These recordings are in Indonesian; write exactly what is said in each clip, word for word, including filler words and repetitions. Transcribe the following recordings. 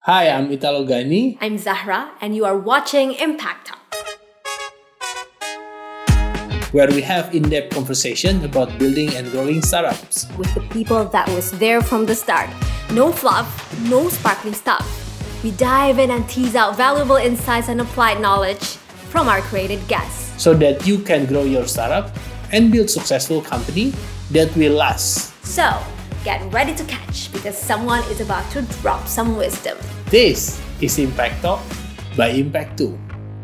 Hi, I'm Italo Gani. I'm Zahra, and you are watching Impact Talk, where we have in-depth conversation about building and growing startups with the people that was there from the start. No fluff, no sparkling stuff. We dive in and tease out valuable insights and applied knowledge from our created guests, so that you can grow your startup and build successful company that will last. So, get ready to catch because someone is about to drop some wisdom. This is Impact Talk by Impact two.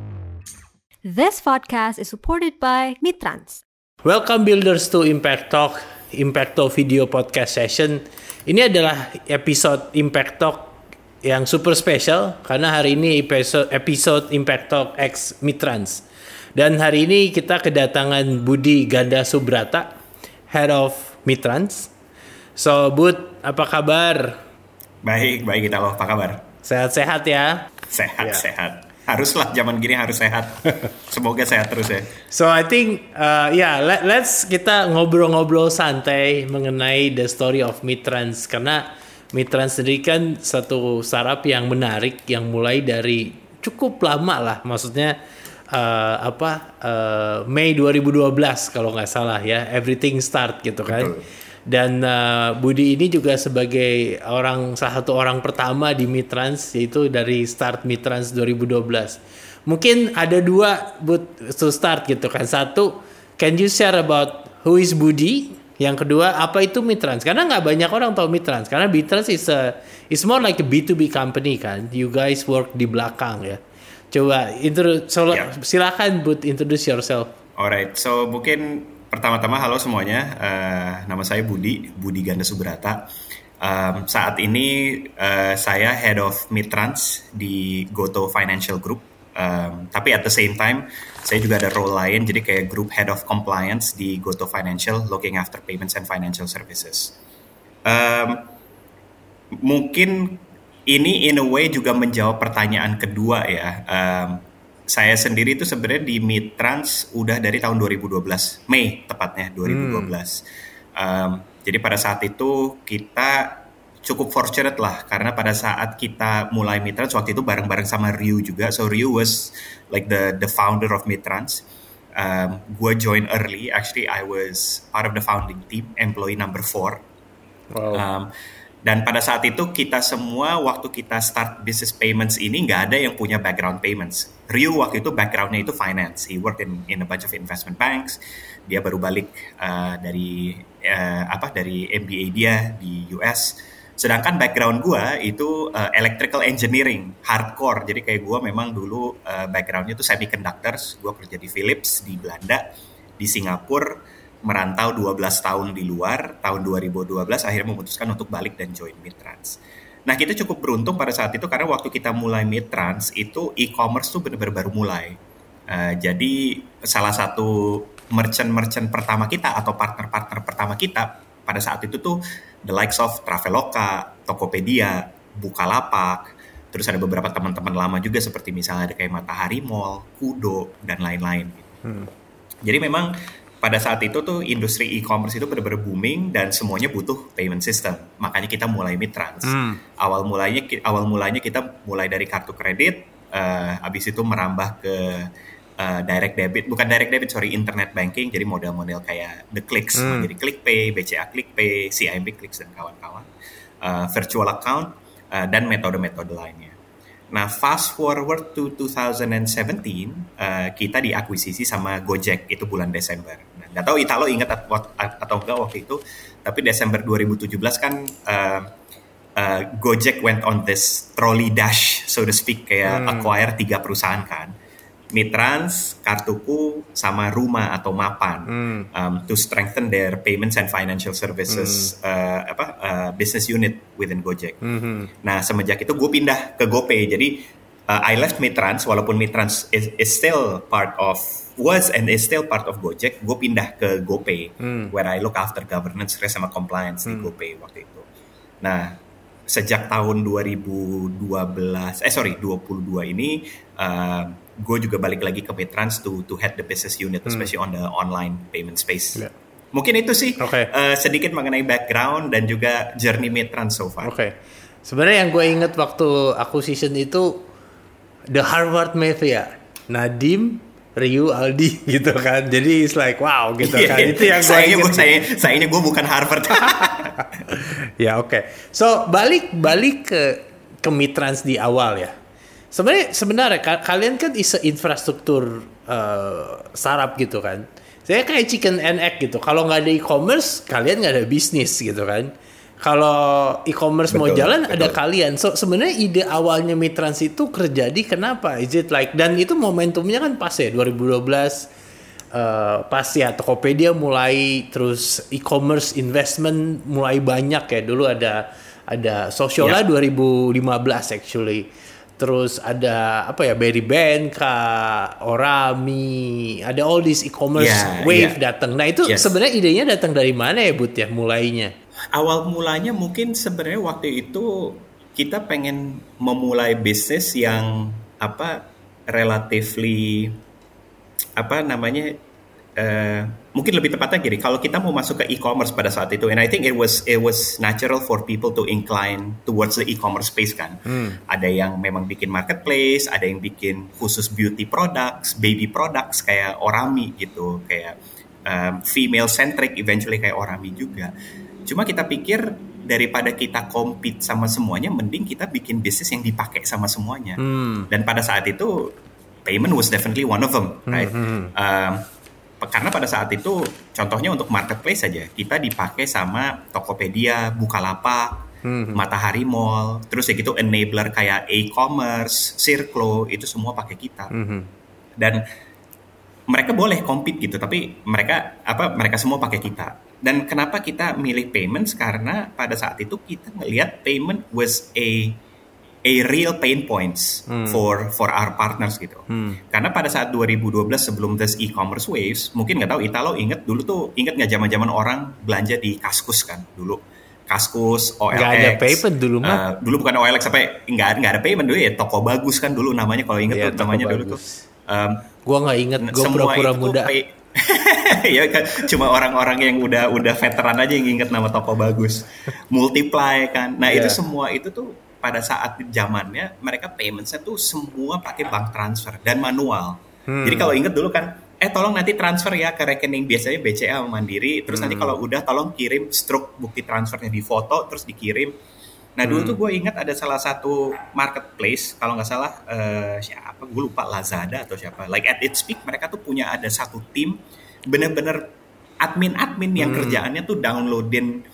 This podcast is supported by Mitrans. Welcome builders to Impact Talk, Impact Talk video podcast session. Ini adalah episode Impact Talk yang super special karena hari ini episode, episode Impact Talk X Mitrans. Dan hari ini kita kedatangan Budi Ganda Subrata, Head of Mitrans. So, Bud, apa kabar? Baik, baik kita loh. Apa kabar? Sehat-sehat ya? Sehat, yeah. sehat. Haruslah zaman gini harus sehat. Semoga sehat terus ya. So I think, uh, yeah, let, let's kita ngobrol-ngobrol santai mengenai the story of Mitrans. Karena Mitrans sendiri kan satu startup yang menarik, yang mulai dari cukup lama lah. Maksudnya uh, apa? Uh, Mei dua ribu dua belas kalau nggak salah ya. Everything start gitu kan. Betul. Dan uh, Budi ini juga sebagai orang salah satu orang pertama di Mitrans, yaitu dari start Mitrans dua ribu dua belas. Mungkin ada dua but to start gitu kan. Satu, can you share about who is Budi? Yang kedua, apa itu Mitrans? Karena nggak banyak orang tahu Mitrans. Karena Mitrans is a is more like a B two B company kan. You guys work di belakang ya. Coba intro, so, yeah. Silakan Bud, introduce yourself. Alright, so mungkin pertama-tama halo semuanya, uh, nama saya Budi, Budi Ganda Subrata. Um, saat ini uh, saya Head of Mitrans di Goto Financial Group. Um, tapi at the same time, saya juga ada role lain, jadi kayak Group Head of Compliance di Goto Financial, looking after payments and financial services. Um, mungkin ini in a way juga menjawab pertanyaan kedua ya. Um, Saya sendiri itu sebenarnya di Mitrans udah dari tahun dua ribu dua belas, Mei tepatnya dua ribu dua belas. Hmm. Um, jadi pada saat itu kita cukup fortunate lah karena pada saat kita mulai Mitrans waktu itu bareng-bareng sama Ryu juga. So Ryu was like the the founder of Mitrans. Um, gue join early, actually I was part of the founding team, employee number four. Wow. Um, Dan pada saat itu kita semua waktu kita start business payments ini nggak ada yang punya background payments. Ryu waktu itu backgroundnya itu finance. He worked in in a bunch of investment banks. Dia baru balik uh, dari uh, apa dari M B A dia di U S. Sedangkan background gue itu uh, electrical engineering hardcore. Jadi kayak gue memang dulu uh, backgroundnya itu semiconductors. Gue kerja di Philips di Belanda, di Singapura. Merantau dua belas tahun di luar, tahun dua ribu dua belas akhirnya memutuskan untuk balik dan join Mitrans. Nah kita cukup beruntung pada saat itu karena waktu kita mulai Mitrans itu e-commerce tuh benar-benar baru mulai. Uh, jadi salah satu merchant-merchant pertama kita atau partner-partner pertama kita pada saat itu tuh the likes of Traveloka, Tokopedia, Bukalapak, terus ada beberapa teman-teman lama juga seperti misalnya ada kayak Matahari Mall, Kudo, dan lain-lain. Hmm. Jadi memang pada saat itu tuh industri e-commerce itu benar-benar booming dan semuanya butuh payment system. Makanya kita mulai Mitrans. Hmm. Awal mulanya awal mulanya kita mulai dari kartu kredit, uh, habis itu merambah ke uh, direct debit, bukan direct debit sorry, internet banking. Jadi model-model kayak The Clicks, hmm. jadi ClickPay, B C A ClickPay, C I M B Clicks dan kawan-kawan, uh, virtual account uh, dan metode-metode lainnya. Nah, fast forward to twenty seventeen, uh, kita diakuisisi sama Gojek, itu bulan Desember. Nah, nggak tahu Italo ingat atau enggak waktu itu, tapi Desember dua ribu tujuh belas kan uh, uh, Gojek went on this trolley dash, so to speak, kayak hmm. acquire tiga perusahaan kan. Mitrans, Kartuku, sama Ruma atau Mapan hmm. um, to strengthen their payments and financial services hmm. uh, apa uh, business unit within Gojek. Hmm. Nah semenjak itu gue pindah ke GoPay. Jadi uh, I left Mitrans walaupun Mitrans is, is still part of was and is still part of Gojek. Gue pindah ke GoPay hmm. where I look after governance, risk sama compliance hmm. di GoPay waktu itu. Nah sejak tahun dua ribu dua belas eh sorry dua puluh dua ini uh, gue juga balik lagi ke Mitrans to to head the business unit, especially hmm. on the online payment space. Yeah. Mungkin itu sih okay. uh, sedikit mengenai background dan juga journey Mitrans so far. Oke. Okay. Sebenarnya yang gue inget waktu acquisition itu the Harvard Mafia, Nadim, Ryu, Aldi gitu kan. Jadi it's like wow gitu kan. Yeah, itu yang gue sayangnya inget. Gue, saya, sayangnya gue bukan Harvard. Ya oke. Okay. So balik balik ke ke Mitrans di awal ya. Sebenarnya sebenarnya kalian kan is infrastruktur uh, startup gitu kan. Saya kayak chicken and egg gitu. Kalau nggak ada e-commerce, kalian nggak ada bisnis gitu kan. Kalau e-commerce betul, mau jalan, betul. Ada kalian. So sebenarnya ide awalnya Mitrans itu terjadi kenapa? Is it like, dan itu momentumnya kan pas ya dua ribu dua belas uh, pas ya Tokopedia mulai, terus e-commerce investment mulai banyak ya. Dulu ada ada Sociola yeah. dua ribu lima belas actually. Terus ada apa ya, Berry Benka, Orami, ada all this e-commerce yeah, wave yeah. datang. Nah itu yes. sebenarnya idenya datang dari mana ya Bud ya mulainya? Awal mulanya mungkin sebenarnya waktu itu kita pengen memulai bisnis yang apa relatively apa namanya uh, mungkin lebih tepatnya gini, kalau kita mau masuk ke e-commerce pada saat itu, and I think it was it was natural for people to incline towards the e-commerce space kan. Hmm. Ada yang memang bikin marketplace, ada yang bikin khusus beauty products, baby products kayak Orami gitu, kayak um, female centric eventually kayak Orami juga. Cuma kita pikir daripada kita compete sama semuanya, mending kita bikin bisnis yang dipakai sama semuanya. Hmm. Dan pada saat itu payment was definitely one of them, right? Hmm. Um, karena pada saat itu contohnya untuk marketplace saja kita dipakai sama Tokopedia, Bukalapak, hmm. Matahari Mall, terus ya gitu enabler kayak e-commerce, Circlo, itu semua pakai kita. Hmm. Dan mereka boleh compete gitu, tapi mereka apa mereka semua pakai kita. Dan kenapa kita milih payments? Karena pada saat itu kita ngelihat payment was a a real pain points hmm. for for our partners gitu. Hmm. Karena pada saat dua ribu dua belas sebelum this e-commerce waves, mungkin nggak tahu Italo inget dulu tuh, inget nggak zaman-zaman orang belanja di Kaskus kan dulu. Kaskus, O L X. Nggak ada payment dulu mah. Uh, dulu bukan O L X, sampai nggak nggak ada payment dulu ya. Toko Bagus kan dulu namanya, kalau inget ya, tuh namanya bagus. Dulu tuh. Um, gua nggak inget, gua pura-pura muda. Pay, ya kan, cuma orang-orang yang udah udah veteran aja yang inget nama Toko Bagus. Multiply kan. Nah, yeah. itu semua itu tuh pada saat zamannya mereka payment-nya tuh semua pakai bank transfer dan manual. Hmm. Jadi kalau inget dulu kan, eh tolong nanti transfer ya ke rekening biasanya B C A sama Mandiri, terus hmm. nanti kalau udah tolong kirim struk bukti transfernya di foto terus dikirim. Nah dulu hmm. tuh gue ingat ada salah satu marketplace, kalau nggak salah uh, siapa, gue lupa, Lazada atau siapa. Like at its peak mereka tuh punya ada satu tim bener-bener admin-admin yang hmm. kerjaannya tuh downloadin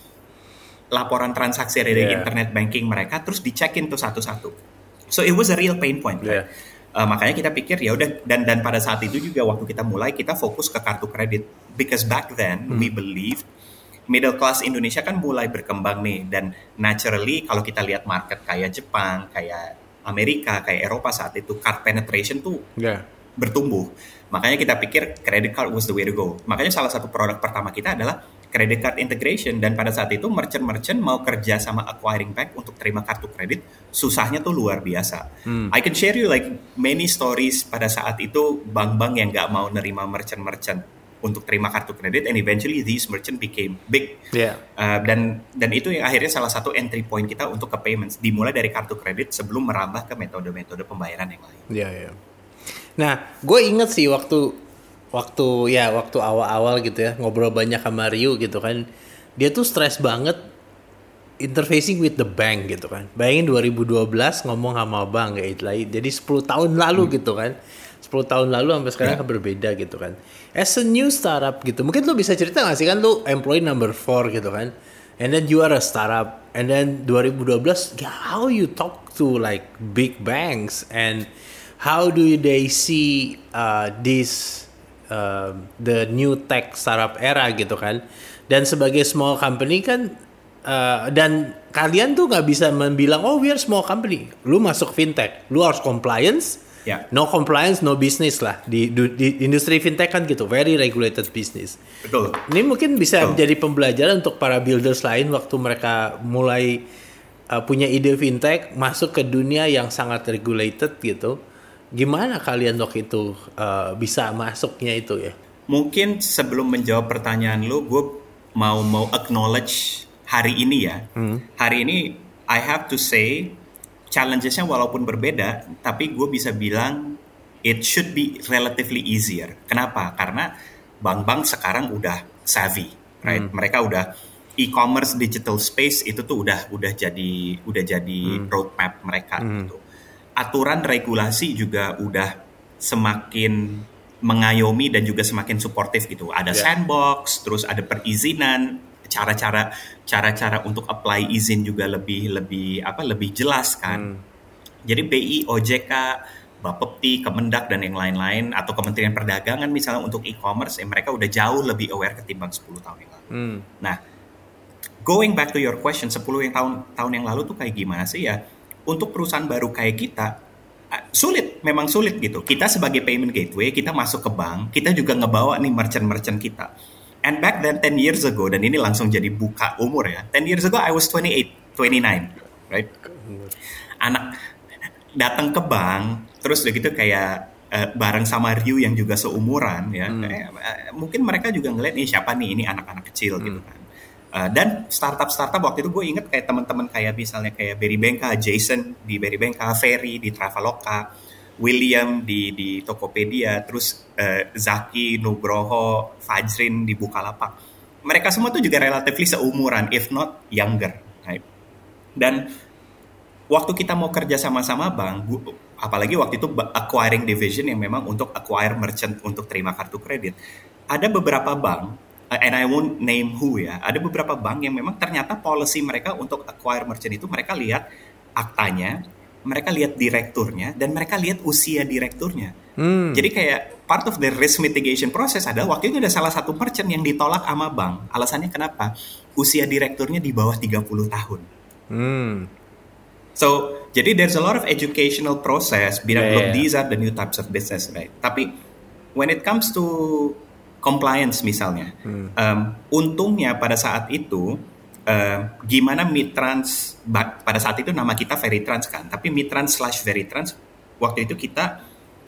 laporan transaksi dari yeah. internet banking mereka, terus dicekin tuh satu-satu. So it was a real pain point. Right? Yeah. Uh, makanya kita pikir ya udah, dan dan pada saat itu juga waktu kita mulai kita fokus ke kartu kredit, because back then hmm. we believe middle class Indonesia kan mulai berkembang nih, dan naturally kalau kita lihat market kayak Jepang, kayak Amerika, kayak Eropa saat itu card penetration tuh yeah. bertumbuh. Makanya kita pikir credit card was the way to go. Makanya salah satu produk pertama kita adalah credit card integration, dan pada saat itu merchant-merchant mau kerja sama acquiring bank untuk terima kartu kredit, susahnya tuh luar biasa. Hmm. I can share you like many stories pada saat itu bank-bank yang nggak mau nerima merchant-merchant untuk terima kartu kredit, and eventually these merchant became big. Yeah. Uh, dan dan itu yang akhirnya salah satu entry point kita untuk ke payments, dimulai dari kartu kredit sebelum merambah ke metode-metode pembayaran yang lain. Iya, yeah, iya. Yeah. Nah, gue inget sih waktu waktu ya waktu awal-awal gitu ya, ngobrol banyak sama Ryu gitu kan, dia tuh stres banget interfacing with the bank gitu kan. Bayangin dua ribu dua belas ngomong sama bank kayak itu, jadi sepuluh tahun lalu hmm. gitu kan. sepuluh tahun lalu sampai sekarang yeah. berbeda gitu kan. As a new startup gitu, mungkin lu bisa cerita gak sih, kan lu employee number four gitu kan, and then you are a startup, and then dua ribu dua belas how you talk to like big banks, and how do they see uh, this uh, the new tech startup era gitu kan. Dan sebagai small company kan, uh, dan kalian tuh gak bisa membilang oh we are small company, lu masuk fintech, lu harus compliance. Yeah. No compliance, no business lah di, di industri fintech kan gitu, very regulated business. Betul. Ini mungkin bisa Betul. Menjadi pembelajaran untuk para builders lain waktu mereka mulai uh, punya ide fintech, masuk ke dunia yang sangat regulated gitu. Gimana kalian waktu itu uh, bisa masuknya itu ya? Mungkin sebelum menjawab pertanyaan lu, gue mau mau acknowledge hari ini ya. Hmm. Hari ini I have to say challenges-nya walaupun berbeda, tapi gue bisa bilang it should be relatively easier. Kenapa? Karena bank-bank sekarang udah savvy, right? Hmm. Mereka udah e-commerce digital space itu tuh udah udah jadi udah jadi hmm. roadmap mereka hmm. gitu. Aturan regulasi juga udah semakin mengayomi dan juga semakin suportif gitu. Ada yeah. sandbox, terus ada perizinan, cara-cara cara-cara untuk apply izin juga lebih lebih apa lebih jelas kan. Hmm. Jadi B I, O J K, Bapepti, Kemendak dan yang lain-lain atau Kementerian Perdagangan misalnya untuk e-commerce, ya mereka udah jauh lebih aware ketimbang sepuluh tahun yang lalu. Hmm. Nah, going back to your question, sepuluh yang tahun tahun yang lalu tuh kayak gimana sih ya? Untuk perusahaan baru kayak kita sulit, memang sulit gitu. Kita sebagai payment gateway, kita masuk ke bank, kita juga ngebawa nih merchant-merchant kita. And back then ten years ago, dan ini langsung jadi buka umur ya. ten years ago I was twenty-eight, twenty-nine, right? Anak datang ke bank, terus udah gitu kayak uh, bareng sama Ryu yang juga seumuran ya. Hmm. Eh, uh, mungkin mereka juga ngeliat nih siapa nih ini anak-anak kecil hmm. gitu kan. Uh, dan startup-startup waktu itu gue inget kayak teman-teman kayak misalnya kayak Berry Benka, Jason di Berry Benka, Ferry di Traveloka, William di di Tokopedia, terus uh, Zaki, Nugroho, Fajrin di Bukalapak. Mereka semua tuh juga relatively seumuran, if not younger. Right? Dan waktu kita mau kerja sama-sama bank, apalagi waktu itu acquiring division yang memang untuk acquire merchant untuk terima kartu kredit, ada beberapa bank, and I won't name who ya, ada beberapa bank yang memang ternyata policy mereka untuk acquire merchant itu mereka lihat aktanya, mereka lihat direkturnya, dan mereka lihat usia direkturnya. Hmm. Jadi kayak part of the risk mitigation process adalah waktu itu ada salah satu merchant yang ditolak sama bank. Alasannya kenapa? Usia direkturnya di bawah tiga puluh tahun. Hmm. So, jadi there's a lot of educational process. Bilang, yeah, look, yeah. these are the new types of business, right? Tapi when it comes to compliance misalnya, hmm. um, untungnya pada saat itu, uh, gimana Mitrans, pada saat itu nama kita Veritrans kan, tapi Mitrans slash Veritrans, waktu itu kita,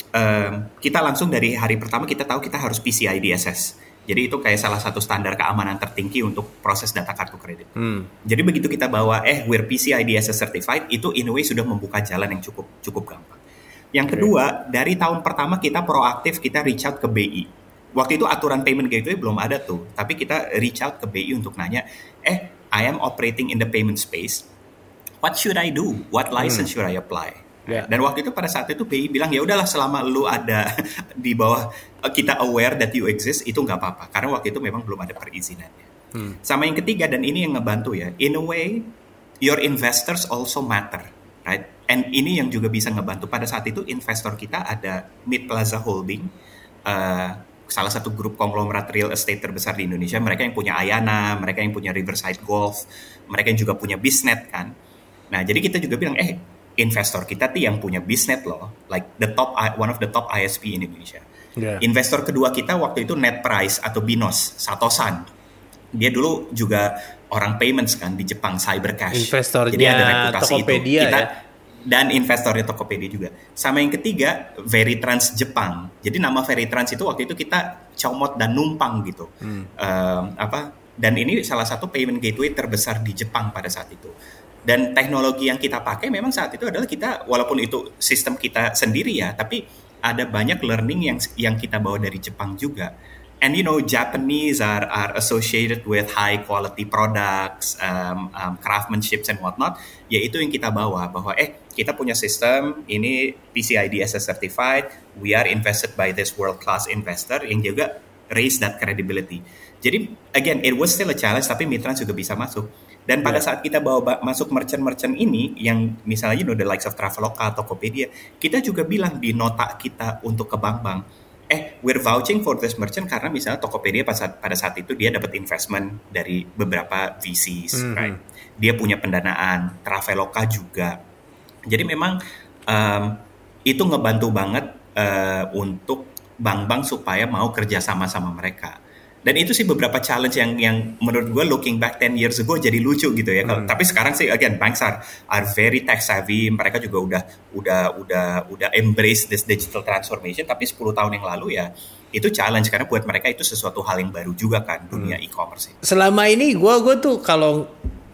um, kita langsung dari hari pertama kita tahu kita harus P C I D S S. Jadi itu kayak salah satu standar keamanan tertinggi untuk proses data kartu kredit. Hmm. Jadi begitu kita bawa, eh we're P C I D S S certified, itu in a way sudah membuka jalan yang cukup cukup gampang. Yang okay. kedua, dari tahun pertama kita proaktif, kita reach out ke B I. Waktu itu aturan payment gateway belum ada tuh, tapi kita reach out ke B I untuk nanya, eh I am operating in the payment space, what should I do? What license hmm. should I apply? Yeah. Dan waktu itu pada saat itu B I bilang ya udahlah selama lu ada di bawah kita aware that you exist itu nggak apa-apa karena waktu itu memang belum ada perizinannya. Hmm. Sama yang ketiga dan ini yang ngebantu ya, in a way your investors also matter, right? And ini yang juga bisa ngebantu. Pada saat itu investor kita ada Mid Plaza Holding, uh, salah satu grup konglomerat real estate terbesar di Indonesia. Mereka yang punya Ayana, mereka yang punya Riverside Golf, mereka yang juga punya Bisnet kan. Nah jadi kita juga bilang eh investor kita tuh yang punya Bisnet loh, like the top one of the top I S P in Indonesia. Yeah. Investor kedua kita waktu itu Net Price atau Binos, Satosan. Dia dulu juga orang payments kan di Jepang, Cybercash. Investornya jadi ada reputasi Tokopedia itu. Kita, ya. Dan investornya Tokopedia juga. Sama yang ketiga Veritrans Jepang. Jadi nama Veritrans itu waktu itu kita comot dan numpang gitu. Hmm. Um, apa? Dan ini salah satu payment gateway terbesar di Jepang pada saat itu. Dan teknologi yang kita pakai memang saat itu adalah kita, walaupun itu sistem kita sendiri ya, tapi ada banyak learning yang yang kita bawa dari Jepang juga. And you know, Japanese are are associated with high quality products, um, um, craftsmanship and whatnot. Yaitu yang kita bawa bahwa eh kita punya sistem ini P C I D S S certified, we are invested by this world class investor yang juga raise that credibility. Jadi again, it was still a challenge, tapi Mitrans juga bisa masuk. Dan pada yeah. saat kita bawa masuk merchant-merchant ini, yang misalnya you know, the likes of Traveloka, Tokopedia, kita juga bilang di nota kita untuk ke bank-bank, eh we're vouching for this merchant karena misalnya Tokopedia pada saat, pada saat itu dia dapat investment dari beberapa V Cs, mm-hmm. right? Dia punya pendanaan, Traveloka juga. Jadi memang um, itu ngebantu banget uh, untuk bank-bank supaya mau kerja sama-sama mereka. Dan itu sih beberapa challenge yang yang menurut gue looking back ten years ago jadi lucu gitu ya. Hmm. Tapi sekarang sih again banks are, are very tech savvy. Mereka juga udah udah udah udah embrace this digital transformation. Tapi sepuluh tahun yang lalu ya itu challenge karena buat mereka itu sesuatu hal yang baru juga kan dunia hmm. e-commerce. Selama ini gue gue tuh kalau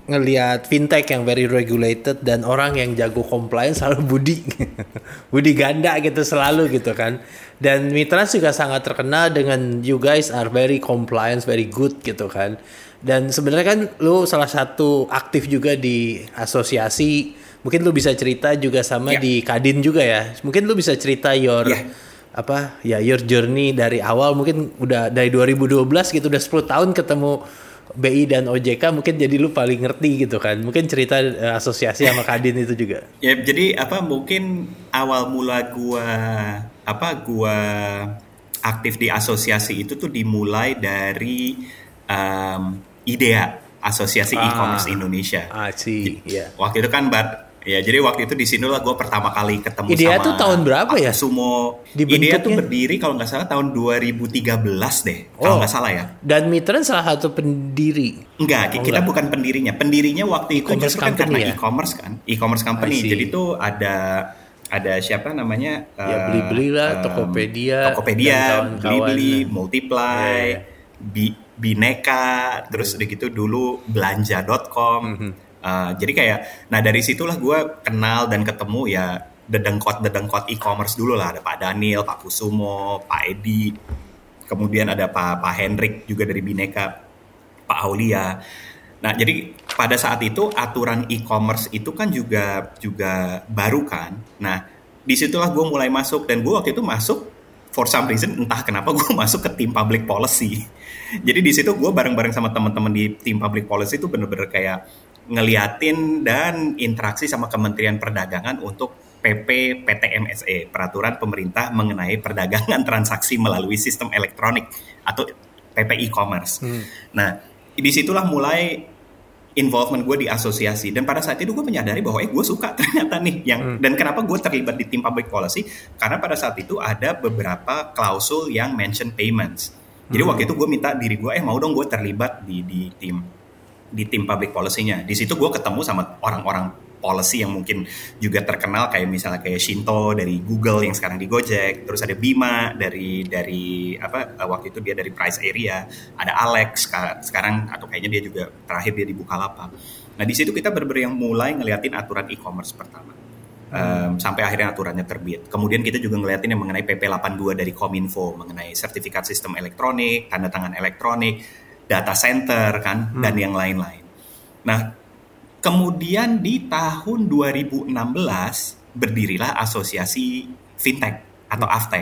ngelihat fintech yang very regulated dan orang yang jago compliance selalu Budi. Budi ganda gitu selalu gitu kan. Dan Mitrans juga sangat terkenal dengan you guys are very compliance, very good gitu kan. Dan sebenarnya kan lu salah satu aktif juga di asosiasi. Mungkin lu bisa cerita juga sama yeah. di Kadin juga ya. Mungkin lu bisa cerita your yeah. apa ya your journey dari awal, mungkin udah dari dua ribu dua belas gitu, udah sepuluh tahun ketemu B I dan O J K, mungkin jadi lu paling ngerti gitu kan. Mungkin cerita uh, asosiasi sama Kadin itu juga. Ya, jadi apa mungkin awal mula gua apa gua aktif di asosiasi itu tuh dimulai dari um, IDEA, Asosiasi ah, E-commerce Indonesia. Ah, sih. Yeah. Waktu itu kan Bat ya, jadi waktu itu di sini lah gue pertama kali ketemu IDEA sama tuh tahun berapa ya? Sumo. IDEA tuh berdiri kalau nggak salah tahun dua ribu tiga belas deh, oh. kalau nggak salah ya. Dan Mitrans salah satu pendiri. Enggak, oh, kita enggak. bukan pendirinya. Pendirinya waktu itu justru kan karena ya? e-commerce kan, e-commerce company. Jadi tuh ada ada siapa namanya? Ya uh, Blibli lah, um, Tokopedia, Tokopedia, Blibli, Multiply, yeah. Bi, Bineka, terus udah gitu dulu belanja dot com. Mm-hmm. Uh, jadi kayak, nah dari situlah gue kenal dan ketemu ya dedengkot-dedengkot e-commerce dulu lah. Ada Pak Daniel, Pak Kusumo, Pak Edi, kemudian ada Pak Pak Hendrik juga dari Bineka, Pak Aulia. Nah jadi pada saat itu aturan e-commerce itu kan juga juga baru kan. Nah disitulah gue mulai masuk, dan gue waktu itu masuk for some reason entah kenapa gue masuk ke tim public policy. Jadi di situ gue bareng-bareng sama teman-teman di tim public policy itu bener-bener kayak ngeliatin dan interaksi sama Kementerian Perdagangan untuk P P P T M S E, Peraturan Pemerintah Mengenai Perdagangan Transaksi Melalui Sistem Elektronik atau P P e-commerce. Hmm. Nah, disitulah mulai involvement gue di asosiasi, dan pada saat itu gue menyadari bahwa eh gue suka ternyata nih yang hmm. dan kenapa gue terlibat di tim public policy, karena pada saat itu ada beberapa klausul yang mention payments. Jadi hmm. waktu itu gue minta diri gue eh mau dong gue terlibat di di tim di tim public policy-nya. Di situ gue ketemu sama orang-orang policy yang mungkin juga terkenal, kayak misalnya kayak Shinto dari Google yang sekarang di Gojek, terus ada Bima dari dari apa waktu itu dia dari Price Area, ada Alex sekarang atau kayaknya dia juga terakhir dia di Bukalapak. Nah di situ kita benar-benar yang mulai ngeliatin aturan e-commerce pertama. Hmm. Um, sampai akhirnya aturannya terbit. Kemudian kita juga ngeliatin yang mengenai P P delapan puluh dua dari Kominfo mengenai sertifikat sistem elektronik, tanda tangan elektronik, data center kan, hmm. dan yang lain-lain. Nah, kemudian di tahun dua ribu enam belas berdirilah Asosiasi Fintech atau Aftek.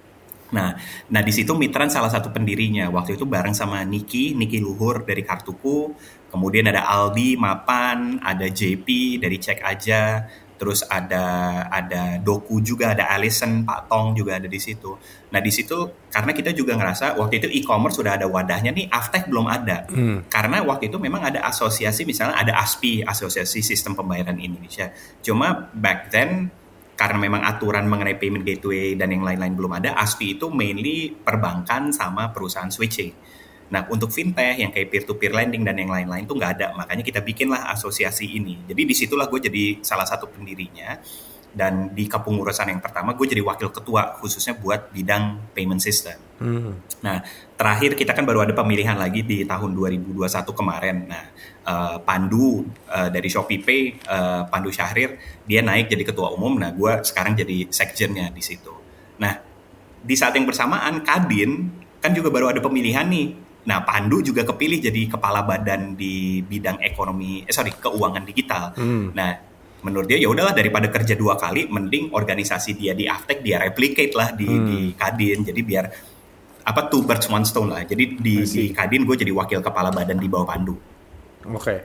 Nah, nah di situ Mitrans salah satu pendirinya. Waktu itu bareng sama Niki, Niki Luhur dari Kartuku, kemudian ada Aldi Mapan, ada J P dari Cek Aja, terus ada ada Doku juga, ada Alison, Pak Tong juga ada di situ. Nah di situ karena kita juga ngerasa waktu itu e-commerce sudah ada wadahnya nih, Aftek belum ada. Hmm. Karena waktu itu memang ada asosiasi, misalnya ada A S P I, Asosiasi Sistem Pembayaran Indonesia. Cuma back then karena memang aturan mengenai payment gateway dan yang lain-lain belum ada, A S P I itu mainly perbankan sama perusahaan switching. Nah, untuk fintech yang kayak peer-to-peer lending dan yang lain-lain tuh nggak ada. Makanya kita bikinlah asosiasi ini. Jadi disitulah gue jadi salah satu pendirinya. Dan di kepengurusan yang pertama gue jadi wakil ketua khususnya buat bidang payment system. Hmm. Nah, terakhir kita kan baru ada pemilihan lagi di tahun dua ribu dua puluh satu kemarin. Nah, uh, Pandu uh, dari ShopeePay, uh, Pandu Syahrir, dia naik jadi ketua umum. Nah, gue sekarang jadi sekjennya di situ. Nah, di saat yang bersamaan Kadin kan juga baru ada pemilihan nih. Nah, Pandu juga kepilih jadi kepala badan di bidang ekonomi, eh sorry, keuangan digital. Hmm. Nah, menurut dia ya udahlah daripada kerja dua kali, mending organisasi dia di Aftek dia replicate lah di, hmm. di Kadin. Jadi biar apa two birds one stone lah. Jadi di, di Kadin gue jadi wakil kepala badan di bawah Pandu. Oke. Okay.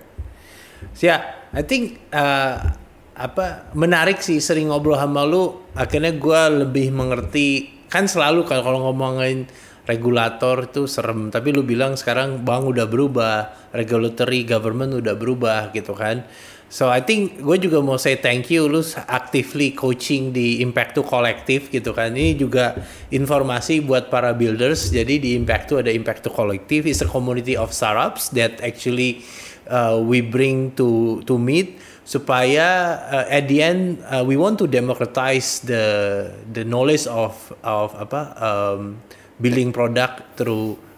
So, yeah, I think uh, apa menarik sih sering ngobrol sama lu. Akhirnya gue lebih mengerti, kan selalu kalau kalau ngomongin regulator itu serem, tapi lu bilang sekarang bank udah berubah, regulatory government udah berubah gitu kan. So I think gue juga mau say thank you, lu actively coaching di Impact to Collective gitu kan. Ini juga informasi buat para builders. Jadi di Impact to ada Impact to Collective, is a community of startups that actually uh, we bring to to meet supaya uh, at the end uh, we want to democratize the the knowledge of of apa um, building product through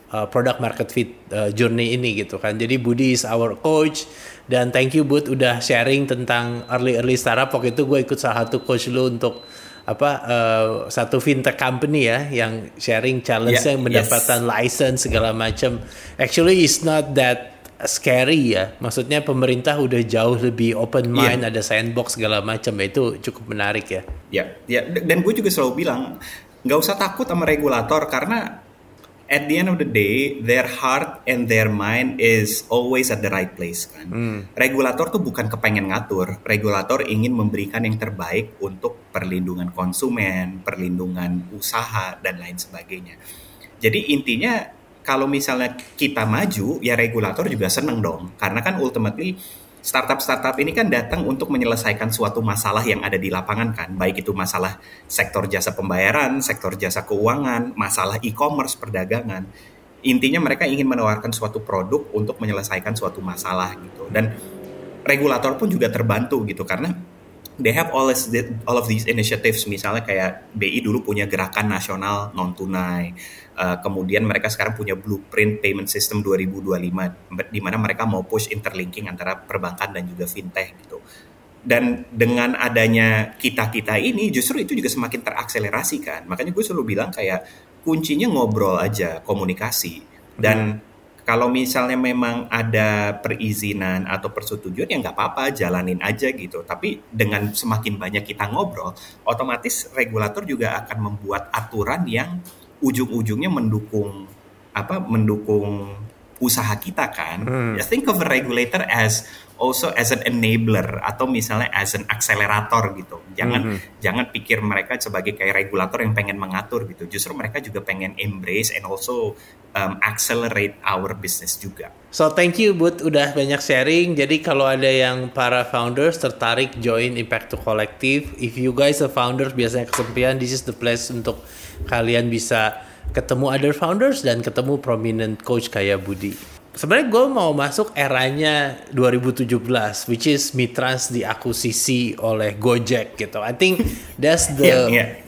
uh, product market fit uh, journey ini gitu kan. Jadi Budi is our coach, dan thank you Bud udah sharing tentang early early startup. Waktu itu gue ikut salah satu coach lu untuk apa uh, satu fintech company ya, yang sharing challenge-nya Yeah, mendapatkan yes. license segala macam. Actually it's not that scary ya. Maksudnya pemerintah udah jauh lebih open mind, Yeah. ada sandbox segala macam. Itu cukup menarik ya. Ya, ya, dan gue juga selalu bilang nggak usah takut sama regulator, karena at the end of the day their heart and their mind is always at the right place kan. Hmm. Regulator tuh bukan kepengen ngatur, regulator ingin memberikan yang terbaik untuk perlindungan konsumen, perlindungan usaha dan lain sebagainya. Jadi intinya kalau misalnya kita maju, ya regulator juga seneng dong, karena kan ultimately startup-startup ini kan datang untuk menyelesaikan suatu masalah yang ada di lapangan kan, baik itu masalah sektor jasa pembayaran, sektor jasa keuangan, masalah e-commerce, perdagangan. Intinya mereka ingin menawarkan suatu produk untuk menyelesaikan suatu masalah gitu. Dan regulator pun juga terbantu gitu, karena they have all, this, all of these initiatives. Misalnya kayak B I dulu punya gerakan nasional non tunai. Uh, kemudian mereka sekarang punya blueprint payment system dua ribu dua puluh lima, di mana mereka mau push interlinking antara perbankan dan juga fintech gitu. Dan dengan adanya kita-kita ini justru itu juga semakin terakselerasi kan. Makanya gue selalu bilang kayak kuncinya ngobrol aja, komunikasi. Dan hmm. kalau misalnya memang ada perizinan atau persetujuan ya nggak apa-apa, jalanin aja gitu. Tapi dengan semakin banyak kita ngobrol, otomatis regulator juga akan membuat aturan yang ujung-ujungnya mendukung apa mendukung usaha kita kan. Hmm. Ya, think of a regulator as also as an enabler atau misalnya as an accelerator gitu. Jangan hmm. jangan pikir mereka sebagai kayak regulator yang pengen mengatur gitu. Justru mereka juga pengen embrace and also um, accelerate our business juga. So thank you Bud udah banyak sharing. Jadi kalau ada yang para founders tertarik join Impact to Collective, if you guys are founders biasanya kesepian, this is the place untuk kalian bisa ketemu other founders dan ketemu prominent coach kayak Budi. Sebenarnya gue mau masuk eranya dua ribu tujuh belas, which is Mitrans diakuisisi oleh Gojek gitu. I think that's the yeah, yeah.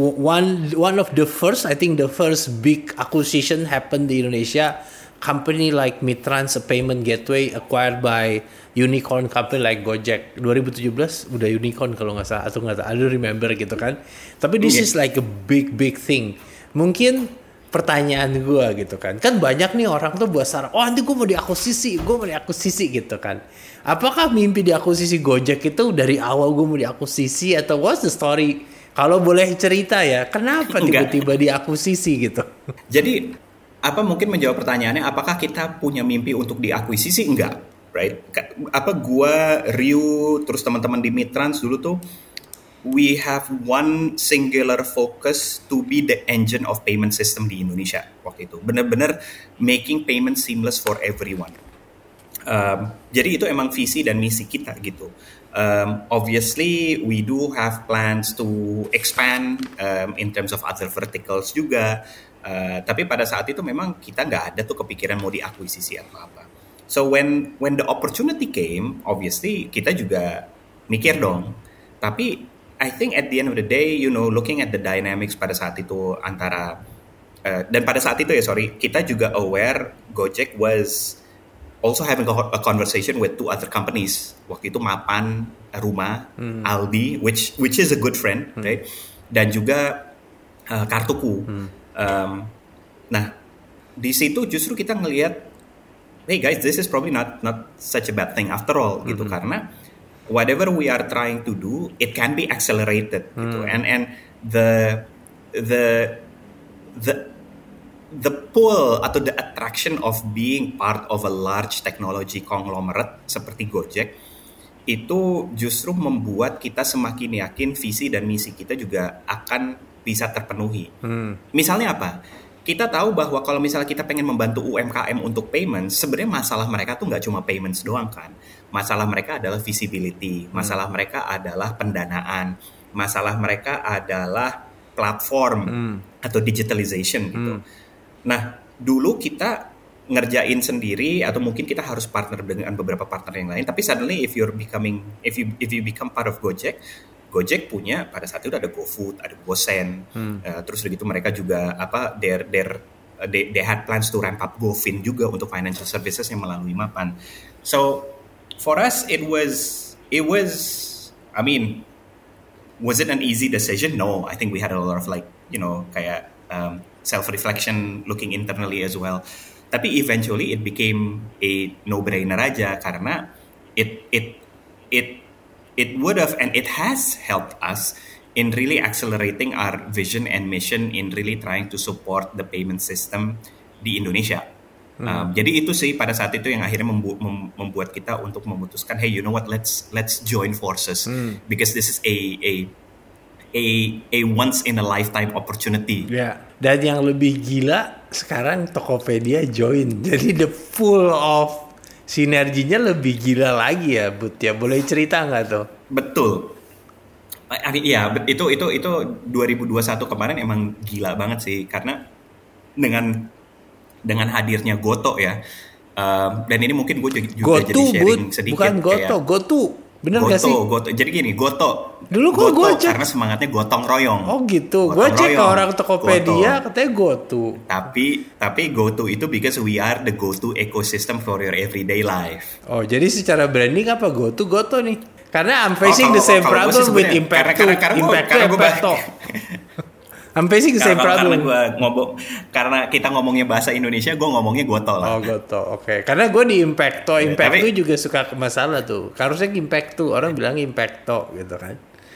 one one of the first, I think the first big acquisition happened di Indonesia. Company like Mitrans, a payment gateway acquired by unicorn company like Gojek. dua ribu tujuh belas udah unicorn kalau nggak salah, atau nggak tahu, I don't remember gitu kan. Tapi this yeah. is like a big big thing. Mungkin pertanyaan gue gitu kan, kan banyak nih orang tuh buat saran, oh nanti gue mau diakuisisi, gue mau diakuisisi gitu kan. Apakah mimpi diakuisisi Gojek itu dari awal gue mau diakuisisi, atau what's the story? Kalau boleh cerita ya, kenapa tiba-tiba diakuisisi gitu? Jadi apa mungkin menjawab pertanyaannya, apakah kita punya mimpi untuk diakuisisi? Enggak, right? Apa gua, Ryu, terus teman-teman di Mitrans dulu tuh, we have one singular focus to be the engine of payment system di Indonesia waktu itu. Benar-benar making payment seamless for everyone. Um, jadi itu emang visi dan misi kita gitu. Um, obviously we do have plans to expand um, in terms of other verticals juga. Uh, tapi pada saat itu memang kita nggak ada tuh kepikiran mau diakuisisi atau apa. So when when the opportunity came, obviously kita juga mikir dong. Tapi I think at the end of the day, you know, looking at the dynamics pada saat itu antara uh, dan pada saat itu ya sorry, kita juga aware Gojek was also having a conversation with two other companies. Waktu itu Mapan, Rumah, hmm. Aldi, which which is a good friend, hmm. right? Dan juga uh, Kartuku. Hmm. Um, nah, di situ justru kita ngelihat, hey guys, this is probably not not such a bad thing after all, mm-hmm. gitu, karena whatever we are trying to do, it can be accelerated, mm. gitu, and and the the the the pull atau the attraction of being part of a large technology conglomerate seperti Gojek itu justru membuat kita semakin yakin visi dan misi kita juga akan bisa terpenuhi. Hmm. Misalnya apa? Kita tahu bahwa kalau misalnya kita pengen membantu U M K M untuk payments, sebenarnya masalah mereka tuh nggak cuma payments doang kan. Masalah mereka adalah visibility, masalah hmm. mereka adalah pendanaan, masalah mereka adalah platform hmm. atau digitalization gitu. Hmm. Nah, dulu kita ngerjain sendiri atau mungkin kita harus partner dengan beberapa partner yang lain. Tapi suddenly if you're becoming, if you if you become part of Gojek, Gojek punya pada saat itu ada GoFood, ada GoSend, hmm. uh, terus begitu mereka juga apa their their uh, they they had plans to ramp up GoFin juga untuk financial services yang melalui Mapan. So for us it was it was I mean, was it an easy decision? No, I think we had a lot of like, you know, kayak um, self-reflection, looking internally as well. Tapi eventually it became a no-brainer aja karena it it it it would have and it has helped us in really accelerating our vision and mission in really trying to support the payment system di Indonesia. Hmm. Um, jadi itu sih pada saat itu yang akhirnya membu- mem- membuat kita untuk memutuskan, hey, you know what, let's let's join forces hmm. because this is a a a a once in a lifetime opportunity. Ya. Dan yang lebih gila sekarang Tokopedia join. Jadi the full of sinerginya lebih gila lagi ya, Bud ya. Boleh cerita nggak tuh? Betul. Iya, itu itu itu dua ribu dua puluh satu kemarin emang gila banget sih karena dengan dengan hadirnya Goto ya. Um, dan ini mungkin gue juga Goto, jadi sharing Bud. sedikit. Bukan Goto, kayak, Goto. Bener Goto, gak sih? Goto. Jadi gini, Goto. Dulu kok Goto gue cek karena semangatnya gotong royong. Oh gitu. Gue cek ke orang Tokopedia Goto. Katanya Goto. Tapi tapi Goto itu because we are the go-to ecosystem for your everyday life. Oh, jadi secara branding apa Goto Goto nih? Karena I'm facing oh, the same oh, problem with Impact karena, karena, karena Impact karena Impacto. I'm facing the same karena, problem. Karena, gua ngomong, karena kita ngomongnya bahasa Indonesia, gue ngomongnya Goto lah. Oh Goto, oke. Okay. Karena gue di Impacto, Impacto tapi, juga suka masalah tuh. Harusnya Impacto, orang bilang Impacto gitu kan.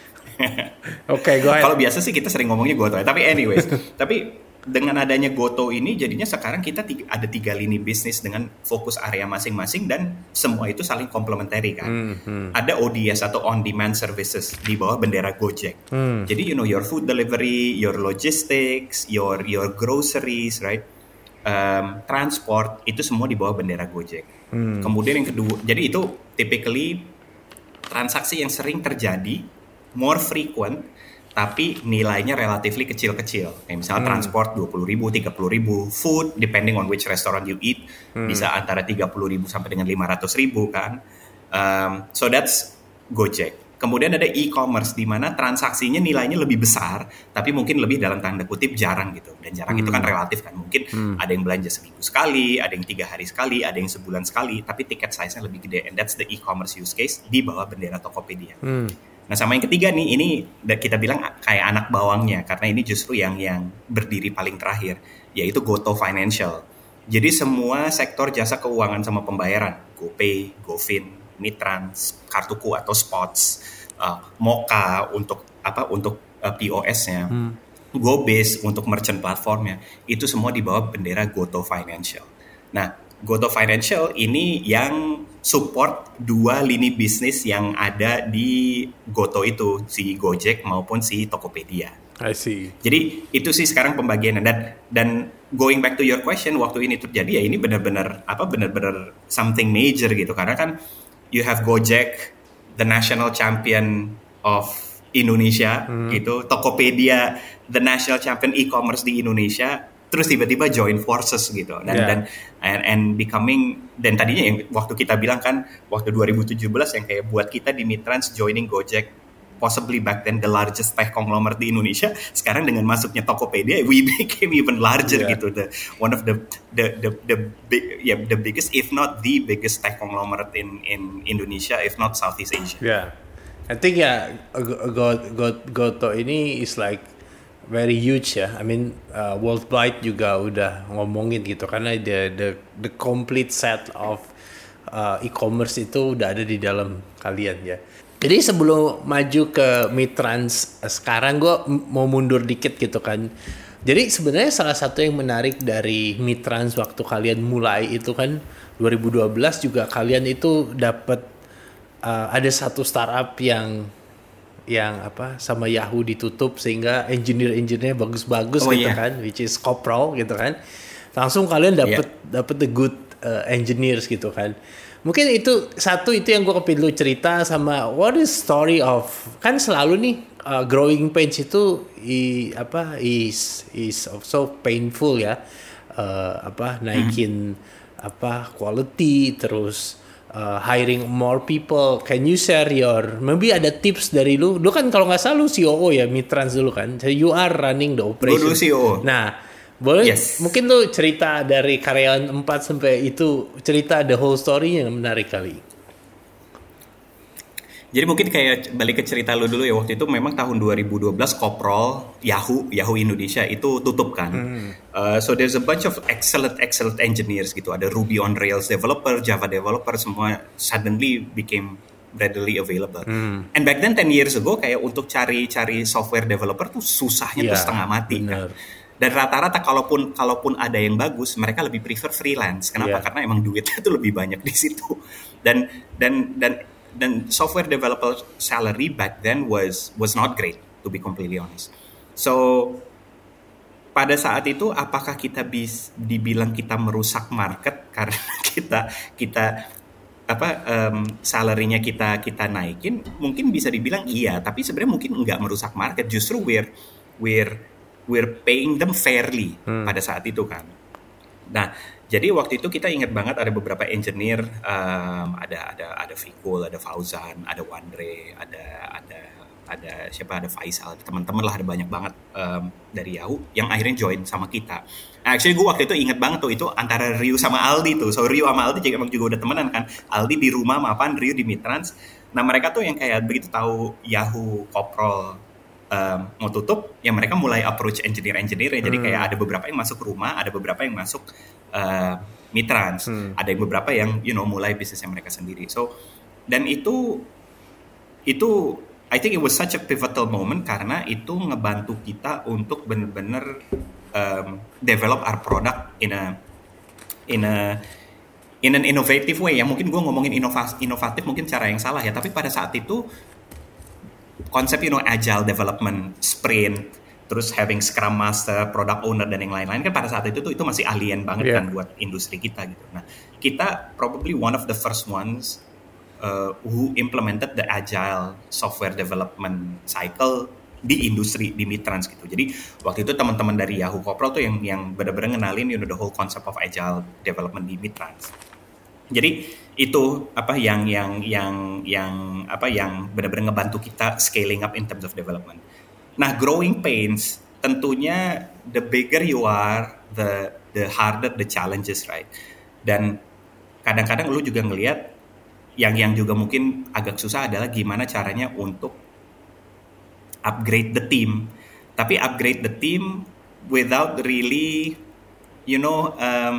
Oke, okay, go ahead. Kalau biasa sih kita sering ngomongnya Goto. Tapi anyways, tapi dengan adanya Goto ini jadinya sekarang kita tiga, ada tiga lini bisnis dengan fokus area masing-masing dan semua itu saling komplementari kan. Mm-hmm. Ada O D S atau on demand services di bawah bendera Gojek. Mm. Jadi you know your food delivery, your logistics, your your groceries, right? Um, transport itu semua di bawah bendera Gojek. Mm. Kemudian yang kedua, jadi itu typically transaksi yang sering terjadi, more frequent, tapi nilainya relatively kecil-kecil. Kayak misalnya hmm. transport dua puluh ribu, tiga puluh ribu, food depending on which restaurant you eat hmm. bisa antara tiga puluh ribu sampai dengan lima ratus ribu kan. Um, so that's Gojek. Kemudian ada e-commerce di mana transaksinya nilainya lebih besar, tapi mungkin lebih dalam tanda kutip jarang gitu. Dan jarang hmm. itu kan relatif kan. Mungkin hmm. ada yang belanja seminggu sekali, ada yang tiga hari sekali, ada yang sebulan sekali, tapi tiket size-nya lebih gede. And that's the e-commerce use case di bawah bendera Tokopedia. Hmm. Nah sama yang ketiga nih, ini kita bilang kayak anak bawangnya karena ini justru yang yang berdiri paling terakhir, yaitu Goto Financial. Jadi semua sektor jasa keuangan sama pembayaran, GoPay, GoFin, Mitrans, Kartuku atau Spots, uh, Moka untuk apa untuk uh, P O S-nya, hmm. GoBiz untuk merchant platformnya, itu semua di bawah bendera Goto Financial. Nah Goto Financial ini yang support dua lini bisnis yang ada di Goto itu, si Gojek maupun si Tokopedia. I see. Jadi itu sih sekarang pembagiannya dan dan going back to your question, waktu ini terjadi ya ini benar-benar apa benar-benar something major gitu karena kan you have Gojek, the national champion of Indonesia hmm. gitu, Tokopedia, the national champion e-commerce di Indonesia. Terus tiba-tiba join forces gitu dan yeah. dan and, and becoming dan tadinya yang waktu kita bilang kan waktu dua ribu tujuh belas yang kayak buat kita di Mitrans joining Gojek possibly back then the largest tech conglomerate di Indonesia, sekarang dengan masuknya Tokopedia we became even larger yeah. gitu, the one of the the the the big yeah the biggest if not the biggest tech conglomerate in in Indonesia if not Southeast Asia. Yeah, I think ya yeah, Goto go, go, go ini is like very huge ya. I mean uh, worldwide juga udah ngomongin gitu karena the the the complete set of uh, e-commerce itu udah ada di dalam kalian ya. Jadi sebelum maju ke Mitrans sekarang gue mau mundur dikit gitu kan. Jadi sebenarnya salah satu yang menarik dari Mitrans waktu kalian mulai itu kan dua ribu dua belas juga kalian itu dapat uh, ada satu startup yang yang apa sama Yahoo ditutup sehingga engineer-engineernya bagus-bagus oh, gitu yeah. kan, which is Coprol gitu kan. Langsung kalian dapat yeah. dapat the good uh, engineers gitu kan. Mungkin itu satu itu yang gue kepilih lu cerita sama what is story of kan selalu nih uh, growing pains itu i, apa is is so painful ya. Uh, apa naikin hmm. apa quality terus Uh, hiring more people. Can you share your maybe ada tips dari lu? Lu kan kalau nggak salah lu C O O ya Mitrans dulu kan. So you are running the operation. Lu dulu C O O. Nah, Boleh Yes. mungkin tuh cerita dari karyawan empat sampai itu cerita the whole story yang menarik kali. Jadi mungkin kayak balik ke cerita lu dulu ya, waktu itu memang tahun dua ribu dua belas Koprol Yahoo Yahoo Indonesia itu tutup kan. Hmm. Uh, so there's a bunch of excellent excellent engineers gitu. Ada Ruby on Rails developer, Java developer, semua suddenly became readily available. Hmm. And back then ten years ago kayak untuk cari-cari software developer tuh susahnya yeah, tuh setengah mati kan. Dan rata-rata kalaupun kalaupun ada yang bagus, mereka lebih prefer freelance. Kenapa? Yeah. Karena emang duitnya tuh lebih banyak di situ. Dan dan dan dan software developer salary back then was was not great, to be completely honest. So pada saat itu apakah kita bisa dibilang kita merusak market karena kita kita apa um, salary-nya kita kita naikin? Mungkin bisa dibilang iya, tapi sebenarnya mungkin nggak merusak market. Justru we're we're we're paying them fairly hmm. pada saat itu kan. Nah, jadi waktu itu kita ingat banget ada beberapa engineer, um, ada ada ada Fikul, ada Fauzan, ada Wandre, ada ada ada siapa, ada Faisal, teman-teman lah, ada banyak banget um, dari Yahoo yang akhirnya join sama kita. Actually gue waktu itu ingat banget tuh, itu antara Ryu sama Aldi tuh. So Ryu sama Aldi juga, juga udah temenan kan. Aldi di rumah mapan, Ryu di Mitrans. Nah mereka tuh yang kayak begitu tahu Yahoo Koprol um, mau tutup, ya mereka mulai approach engineer-engineer. Jadi hmm. kayak ada beberapa yang masuk rumah, ada beberapa yang masuk Uh, Mitrans, hmm. ada yang beberapa yang you know mulai bisnisnya mereka sendiri. So dan itu itu I think it was such a pivotal moment karena itu ngebantu kita untuk benar-benar um, develop our product in a in a in an innovative way. Ya mungkin gue ngomongin inovasi, inovatif mungkin cara yang salah ya, tapi pada saat itu konsep you know agile development, sprint, terus having Scrum Master, Product Owner, dan yang lain-lain kan pada saat itu tuh itu masih alien banget yeah. kan buat industri kita gitu. Nah kita probably one of the first ones uh, who implemented the agile software development cycle di industri di Mitrans gitu. Jadi waktu itu teman-teman dari Yahoo Koprol tuh yang yang benar-benar ngenalin you know the whole concept of agile development di Mitrans. Jadi itu apa yang yang yang yang apa yang benar-benar ngebantu kita scaling up in terms of development. Nah, growing pains tentunya the bigger you are, the the harder the challenges, right? Dan kadang-kadang lu juga ngelihat yang yang juga mungkin agak susah adalah gimana caranya untuk upgrade the team. Tapi upgrade the team without really, you know, um,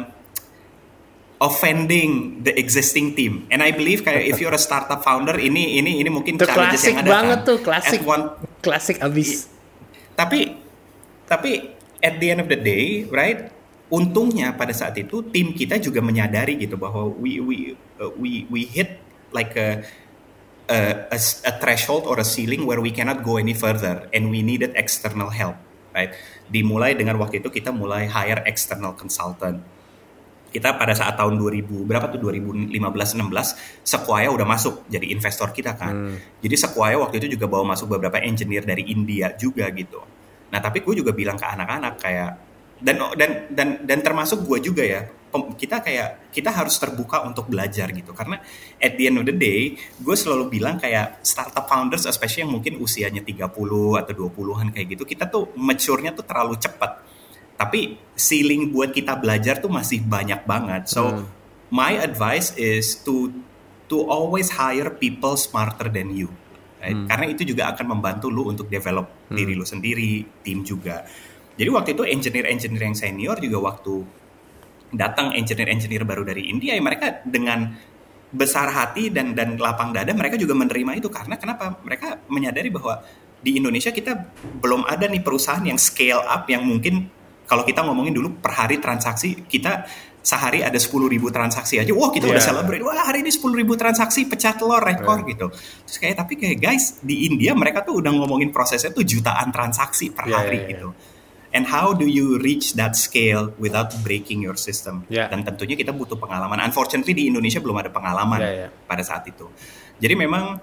offending the existing team. And I believe kayak if you're a startup founder, ini ini ini mungkin challenges yang ada banget kan. Tuh, klasik one, klasik abis. Tapi tapi at the end of the day, right? Untungnya pada saat itu tim kita juga menyadari gitu bahwa we we uh, we we hit like a, a a a threshold or a ceiling where we cannot go any further and we needed external help, right? Dimulai dengan waktu itu kita mulai hire external consultant. Kita pada saat tahun dua ribu berapa tuh dua ribu lima belas enam belas Sequoia udah masuk jadi investor kita kan. Hmm. Jadi Sequoia waktu itu juga bawa masuk beberapa engineer dari India juga gitu. Nah, tapi gue juga bilang ke anak-anak kayak dan dan dan dan termasuk gue juga ya. Kita kayak kita harus terbuka untuk belajar gitu. Karena at the end of the day, gue selalu bilang kayak startup founders especially yang mungkin usianya tiga puluh atau dua puluhan kayak gitu, kita tuh mature-nya tuh terlalu cepat. Tapi ceiling buat kita belajar tuh masih banyak banget. So hmm. my advice is to to always hire people smarter than you, right? Hmm. Karena itu juga akan membantu lu untuk develop hmm. diri lu sendiri, tim juga. Jadi waktu itu engineer-engineer yang senior juga waktu datang engineer-engineer baru dari India, ya mereka dengan besar hati dan dan lapang dada mereka juga menerima itu. Karena kenapa? Mereka menyadari bahwa di Indonesia kita belum ada nih perusahaan yang scale up yang mungkin kalau kita ngomongin dulu per hari transaksi, kita sehari ada sepuluh ribu transaksi aja. Wah, kita yeah. udah celebrate. Wah, hari ini sepuluh ribu transaksi, pecah telur, rekor yeah. gitu. Terus kayak, tapi kayak guys, di India mereka tuh udah ngomongin prosesnya tuh jutaan transaksi per yeah, hari yeah, gitu. Yeah. And how do you reach that scale without breaking your system? Yeah. Dan tentunya kita butuh pengalaman. Unfortunately di Indonesia belum ada pengalaman yeah, yeah. pada saat itu. Jadi memang,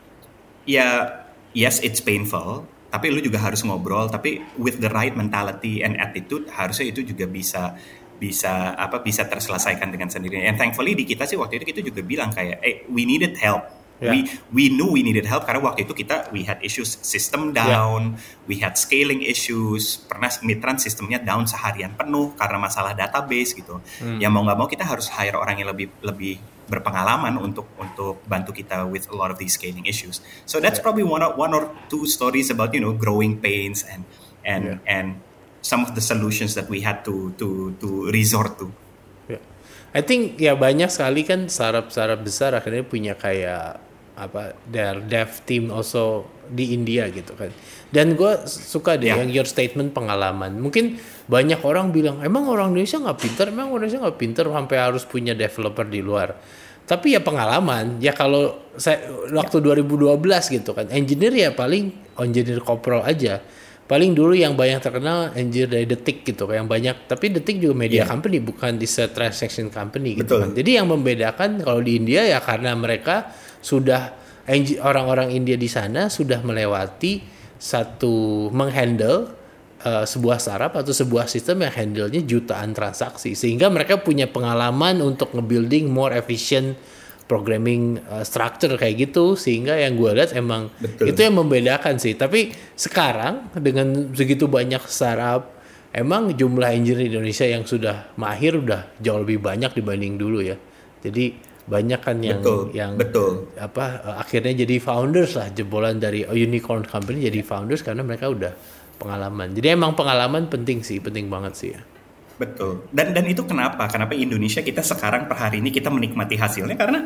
ya yes it's painful, tapi lu juga harus ngobrol, tapi with the right mentality and attitude harusnya itu juga bisa bisa apa bisa terselesaikan dengan sendirinya. And thankfully di kita sih waktu itu kita juga bilang kayak, eh we needed help Yeah. We we knew we needed help karena waktu itu kita we had issues system down, yeah. we had scaling issues, pernah Mitrans sistemnya down seharian penuh karena masalah database gitu. Hmm. Yang mau nggak mau kita harus hire orang yang lebih lebih berpengalaman untuk untuk bantu kita with a lot of these scaling issues. So that's yeah. probably one or, one or two stories about you know growing pains and and yeah. and some of the solutions that we had to to to resort to. Yeah. I think ya banyak sekali kan startup-startup besar akhirnya punya kayak apa their dev team also di India gitu kan. Dan gue suka deh yeah. yang your statement pengalaman. Mungkin banyak orang bilang emang orang Indonesia nggak pinter, emang orang Indonesia nggak pinter sampai harus punya developer di luar. Tapi ya pengalaman. Ya kalau saya waktu yeah. dua ribu dua belas gitu kan, engineer ya paling engineer kopro aja. Paling dulu yang banyak terkenal engineer dari Detik gitu, yang banyak. Tapi Detik juga media yeah. company, bukan di transaction company gitu. Betul. Kan. Jadi yang membedakan kalau di India ya karena mereka sudah orang-orang India di sana sudah melewati satu menghandle uh, sebuah startup atau sebuah sistem yang handle-nya jutaan transaksi, sehingga mereka punya pengalaman untuk nge-building more efficient programming uh, structure kayak gitu, sehingga yang gue lihat emang Betul. Itu yang membedakan sih. Tapi sekarang dengan segitu banyak startup, emang jumlah engineer di Indonesia yang sudah mahir udah jauh lebih banyak dibanding dulu ya. Jadi banyak kan yang betul, yang betul. apa akhirnya jadi founders lah, jebolan dari unicorn company jadi founders karena mereka udah pengalaman. Jadi emang pengalaman penting sih, penting banget sih ya. Betul. Dan dan itu kenapa? Kenapa Indonesia kita sekarang per hari ini kita menikmati hasilnya karena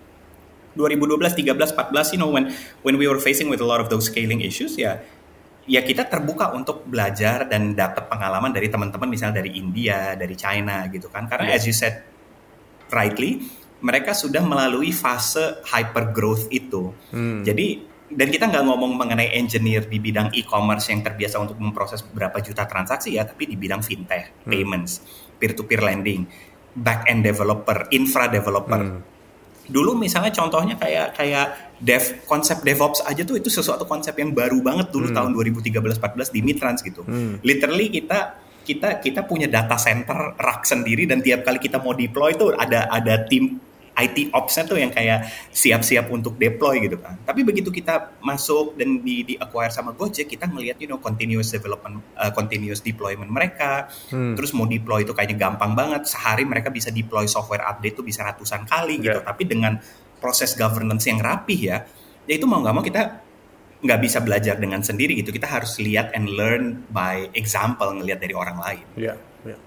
dua ribu dua belas, tiga belas, empat belas you know when when we were facing with a lot of those scaling issues ya ya kita terbuka untuk belajar dan dapat pengalaman dari teman-teman misalnya dari India, dari China gitu kan. Karena yeah. as you said rightly mereka sudah melalui fase hyper growth itu. Hmm. Jadi dan kita nggak ngomong mengenai engineer di bidang e-commerce yang terbiasa untuk memproses beberapa juta transaksi ya, tapi di bidang fintech, hmm. payments, peer-to-peer lending, back-end developer, infra developer. Hmm. Dulu misalnya contohnya kayak kayak dev konsep DevOps aja tuh itu sesuatu konsep yang baru banget dulu hmm. tahun dua ribu tiga belas empat belas di Mitrans gitu. Hmm. Literally kita kita kita punya data center rak sendiri dan tiap kali kita mau deploy tuh ada ada tim I T ops-nya tuh yang kayak siap-siap untuk deploy gitu kan. Tapi begitu kita masuk dan di, di acquire sama Gojek, kita ngelihat you know continuous development, uh, continuous deployment mereka. Hmm. Terus mau deploy itu kayaknya gampang banget. Sehari mereka bisa deploy software update tuh bisa ratusan kali gitu. Yeah. Tapi dengan proses governance yang rapih ya, ya itu mau nggak mau kita nggak bisa belajar dengan sendiri gitu. Kita harus lihat and learn by example, ngelihat dari orang lain. Yeah. Yeah.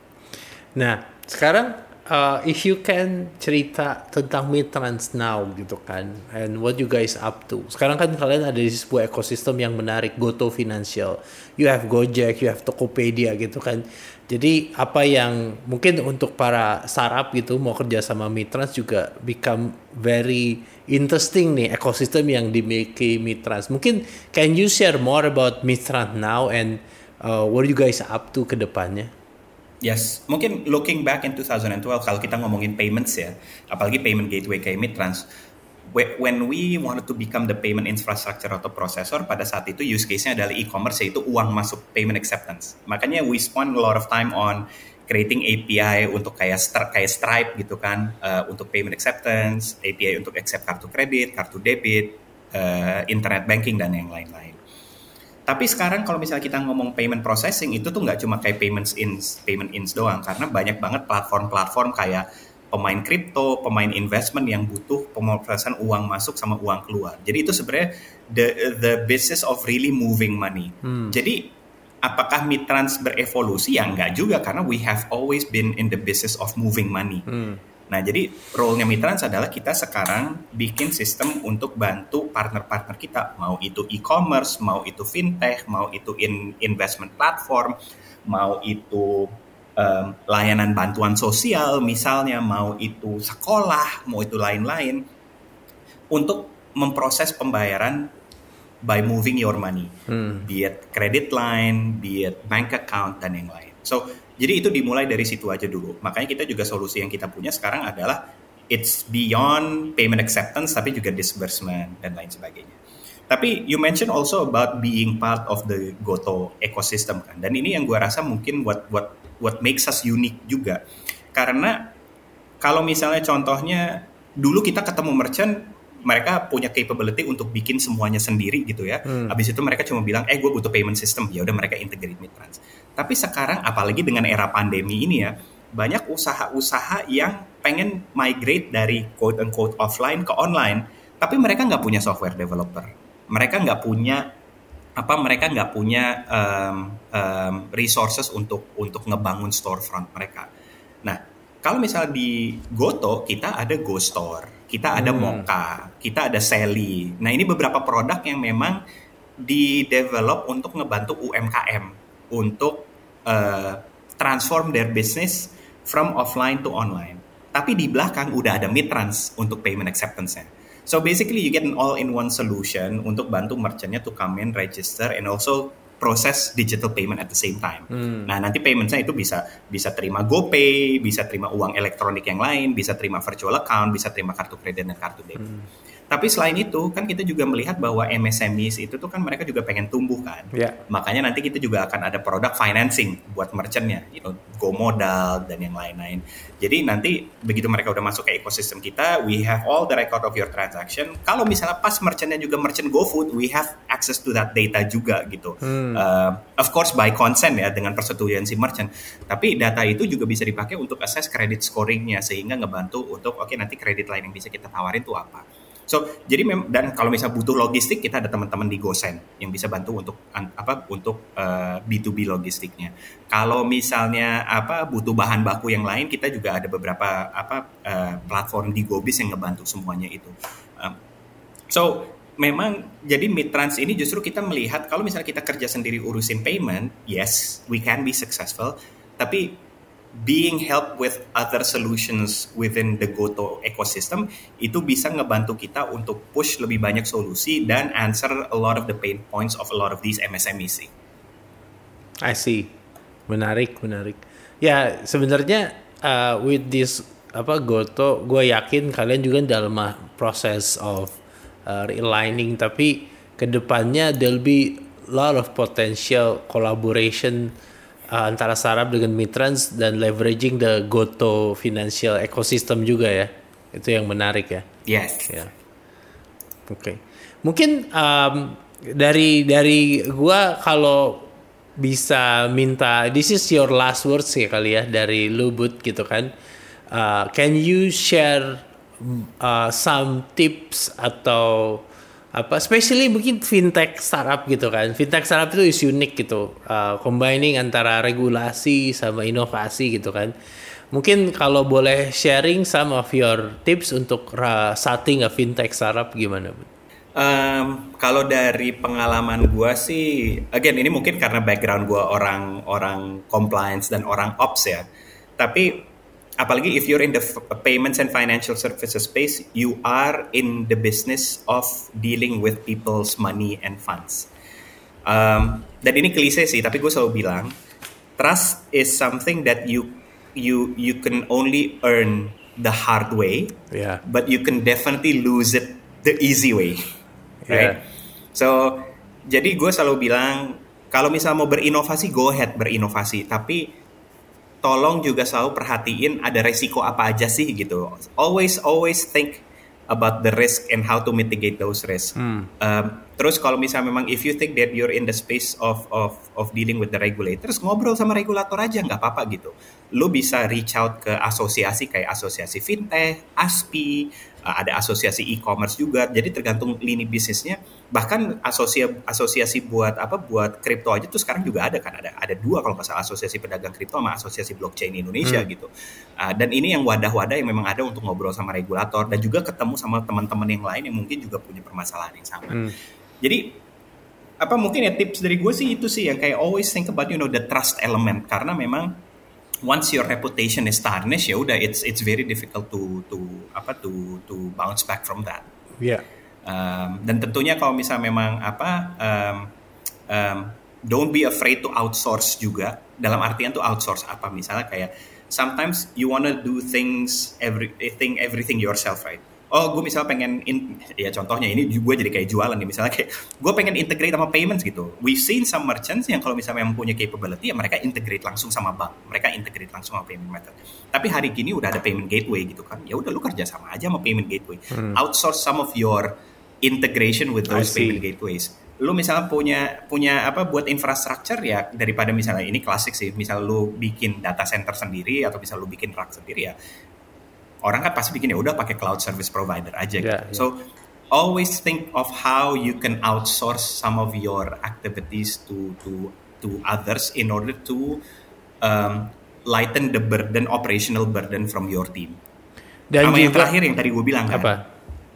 Nah, sekarang Uh, if you can cerita tentang Mitrans now gitu kan, and what you guys up to. Sekarang kan kalian ada di sebuah ekosistem yang menarik, Goto Financial. You have Gojek, you have Tokopedia gitu kan. Jadi apa yang mungkin untuk para startup gitu mau kerja sama Mitrans juga become very interesting nih ekosistem yang dimiliki Mitrans. Mungkin can you share more about Mitrans now and uh, what you guys up to ke depannya? Yes, mungkin looking back in twenty twelve kalau kita ngomongin payments ya, apalagi payment gateway kayak Mitrans, when we wanted to become the payment infrastructure atau processor, pada saat itu use case-nya adalah e-commerce, yaitu uang masuk payment acceptance. Makanya we spend a lot of time on creating A P I untuk kayak kayak Stripe gitu kan, uh, untuk payment acceptance, A P I untuk accept kartu kredit, kartu debit, uh, internet banking dan yang lain-lain. Tapi sekarang kalau misalnya kita ngomong payment processing itu tuh nggak cuma kayak payments ins, payment ins doang, karena banyak banget platform-platform kayak pemain kripto, pemain investment yang butuh pemrosesan uang masuk sama uang keluar. Jadi itu sebenarnya the the business of really moving money. Hmm. Jadi apakah Mitrans berevolusi? Ya enggak juga, karena we have always been in the business of moving money. Hmm. Nah, jadi role-nya Mitrans adalah kita sekarang bikin sistem untuk bantu partner-partner kita, mau itu e-commerce, mau itu fintech, mau itu in investment platform, mau itu um, layanan bantuan sosial misalnya, mau itu sekolah, mau itu lain-lain, untuk memproses pembayaran by moving your money, hmm. be it credit line, be it bank account, dan yang lain. So, jadi itu dimulai dari situ aja dulu. Makanya kita juga solusi yang kita punya sekarang adalah it's beyond payment acceptance, tapi juga disbursement dan lain sebagainya. Tapi you mentioned also about being part of the Goto ecosystem kan. Dan ini yang gue rasa mungkin what what what makes us unique juga. Karena kalau misalnya contohnya dulu kita ketemu merchant, mereka punya capability untuk bikin semuanya sendiri gitu ya. Hmm. Habis itu mereka cuma bilang, eh gue butuh payment system, ya udah mereka integrate Midtrans. Tapi sekarang apalagi dengan era pandemi ini ya, banyak usaha-usaha yang pengen migrate dari quote unquote offline ke online, tapi mereka nggak punya software developer, mereka nggak punya apa mereka nggak punya um, um, resources untuk untuk ngebangun storefront mereka. Nah, kalau misalnya di Goto kita ada Go Store, kita ada hmm. Moka, kita ada Sally. Nah, ini beberapa produk yang memang di-develop untuk ngebantu U M K M untuk uh, transform their business from offline to online. Tapi di belakang udah ada Midtrans untuk payment acceptance-nya. So basically you get an all-in-one solution untuk bantu merchant-nya to come in, register, and also proses digital payment at the same time. Hmm. Nah, nanti payment-nya itu bisa bisa terima GoPay, bisa terima uang elektronik yang lain, bisa terima virtual account, bisa terima kartu kredit dan kartu debit. Hmm. Tapi selain itu, kan kita juga melihat bahwa M S M Es itu tuh kan mereka juga pengen tumbuh kan. Yeah. Makanya nanti kita juga akan ada produk financing buat merchant-nya, you know, Go Modal dan yang lain-lain. Jadi nanti begitu mereka udah masuk ke ekosistem kita, we have all the record of your transaction. Kalau misalnya pas merchant-nya juga merchant GoFood, we have access to that data juga gitu. Hmm. Uh, of course by consent ya, dengan persetujuan si merchant. Tapi data itu juga bisa dipakai untuk assess credit scoring-nya, sehingga ngebantu untuk oke okay, nanti kredit lain yang bisa kita tawarin tuh apa. So, jadi mem- dan kalau misalnya butuh logistik, kita ada teman-teman di GoSend yang bisa bantu untuk apa untuk uh, B to B logistiknya. Kalau misalnya apa butuh bahan baku yang lain, kita juga ada beberapa apa uh, platform di GoBiz yang ngebantu semuanya itu. Um, so, memang jadi Midtrans ini justru kita melihat kalau misalnya kita kerja sendiri urusin payment, yes, we can be successful, tapi being helped with other solutions within the Goto ecosystem itu bisa ngebantu kita untuk push lebih banyak solusi dan answer a lot of the pain points of a lot of these M S M Es. I see. Menarik, menarik. Ya, sebenarnya uh, with this apa Goto, gue yakin kalian juga dalam proses of uh, realigning, tapi kedepannya there'll be lot of potential collaboration Uh, antara startup dengan Midtrans dan leveraging the Goto financial ecosystem juga ya. Itu yang menarik ya. Yes. Ya. Oke. Okay. Mungkin um, dari dari gua kalau bisa minta, this is your last words ya kali ya dari lu Bud gitu kan. Uh, can you share uh, some tips atau apa, especially mungkin fintech startup gitu kan. Fintech startup itu is unik gitu, uh, combining antara regulasi sama inovasi gitu kan. Mungkin kalau boleh sharing some of your tips untuk uh, starting a fintech startup gimana, Bu? Um, kalau dari pengalaman gue sih, again ini mungkin karena background gue orang orang compliance dan orang ops ya. Tapi apalagi if you're in the f- payments and financial services space, you are in the business of dealing with people's money and funds. Um, dan ini klise sih, tapi gue selalu bilang, trust is something that you you you can only earn the hard way, yeah. But you can definitely lose it the easy way, right? Yeah. So, jadi gue selalu bilang, kalau misalnya mau berinovasi, go ahead berinovasi, tapi tolong juga selalu perhatiin ada resiko apa aja sih gitu. Always always think about the risk and how to mitigate those risks. Hmm. Um, terus kalau misalnya memang if you think that you're in the space of of of dealing with the regulators, ngobrol sama regulator aja nggak apa-apa gitu. Lu bisa reach out ke asosiasi kayak asosiasi fintech, A S P I, uh, ada asosiasi e-commerce juga. Jadi tergantung lini bisnisnya. Bahkan asosiasi asosiasi buat apa buat kripto aja tuh sekarang juga ada kan, ada ada dua kalau nggak salah, asosiasi pedagang kripto sama asosiasi blockchain Indonesia hmm. gitu. Uh, dan ini yang wadah-wadah yang memang ada untuk ngobrol sama regulator dan juga ketemu sama teman-teman yang lain yang mungkin juga punya permasalahan yang sama. Hmm. Jadi apa mungkin ya tips dari gue sih itu sih yang kayak always think about you know the trust element, karena memang once your reputation is tarnished ya udah it's it's very difficult to to apa to to bounce back from that. Yeah. Um, dan tentunya kalau misalnya memang apa um, um, don't be afraid to outsource juga, dalam artian tuh outsource apa, misalnya kayak sometimes you wanna do things everything everything yourself, right? oh gue misalnya pengen, in, ya contohnya ini gue jadi kayak jualan nih, misalnya kayak gue pengen integrate sama payments gitu. We've seen some merchants yang kalau misalnya memang punya capability, ya mereka integrate langsung sama bank, mereka integrate langsung sama payment method. Tapi hari gini udah ada payment gateway gitu kan, ya udah lu kerja sama aja sama payment gateway, hmm. outsource some of your integration with those payment gateways. Lu misalnya punya punya apa buat infrastructure, ya daripada misalnya ini klasik sih, misal lu bikin data center sendiri atau misal lu bikin rack sendiri, ya orang kan pasti bikin ya udah pakai cloud service provider aja gitu. Yeah, yeah. So always think of how you can outsource some of your activities to to to others in order to um, lighten the burden, operational burden from your team. Dan sama juga, yang terakhir yang tadi gue bilang kan. Apa?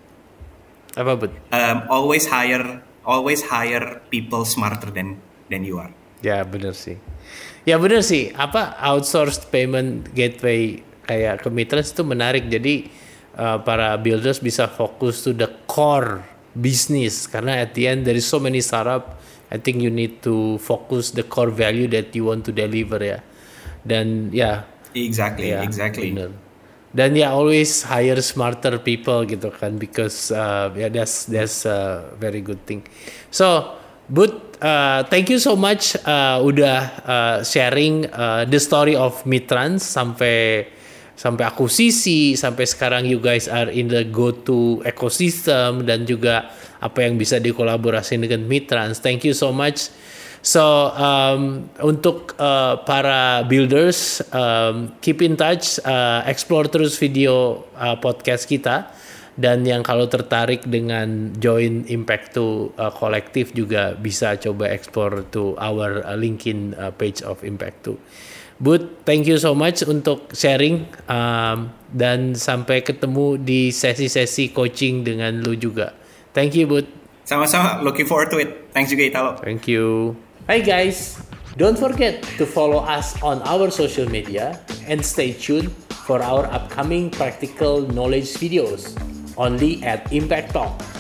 Apa bud? Um, always hire, always hire people smarter than than you are. Ya benar sih. Ya benar sih. Apa outsourced payment gateway kayak ke Mitrans itu menarik. Jadi uh, para builders bisa fokus to the core business, karena at the end there is so many startup. I think you need to focus the core value that you want to deliver ya. Dan ya. Exactly, ya, exactly. Bener. Dan ya always hire smarter people gitu kan, because uh, yeah, that's that's a very good thing. So, Bud, uh, thank you so much uh, udah uh, sharing uh, the story of Mitrans sampai sampai akuisisi, sampai sekarang you guys are in the go-to ecosystem, dan juga apa yang bisa dikolaborasikan dengan Mitrans. Thank you so much. So um, untuk uh, para builders, um, keep in touch, uh, explore terus video uh, podcast kita, dan yang kalau tertarik dengan join Impact two uh, Collective juga bisa coba explore to our uh, LinkedIn uh, page of Impact two. Bud, thank you so much untuk sharing, um, dan sampai ketemu di sesi-sesi coaching dengan lu juga. Thank you, Bud. Sama-sama, looking forward to it. Thanks juga Italo. Thank you. Hi guys, don't forget to follow us on our social media and stay tuned for our upcoming practical knowledge videos only at Impact Talk.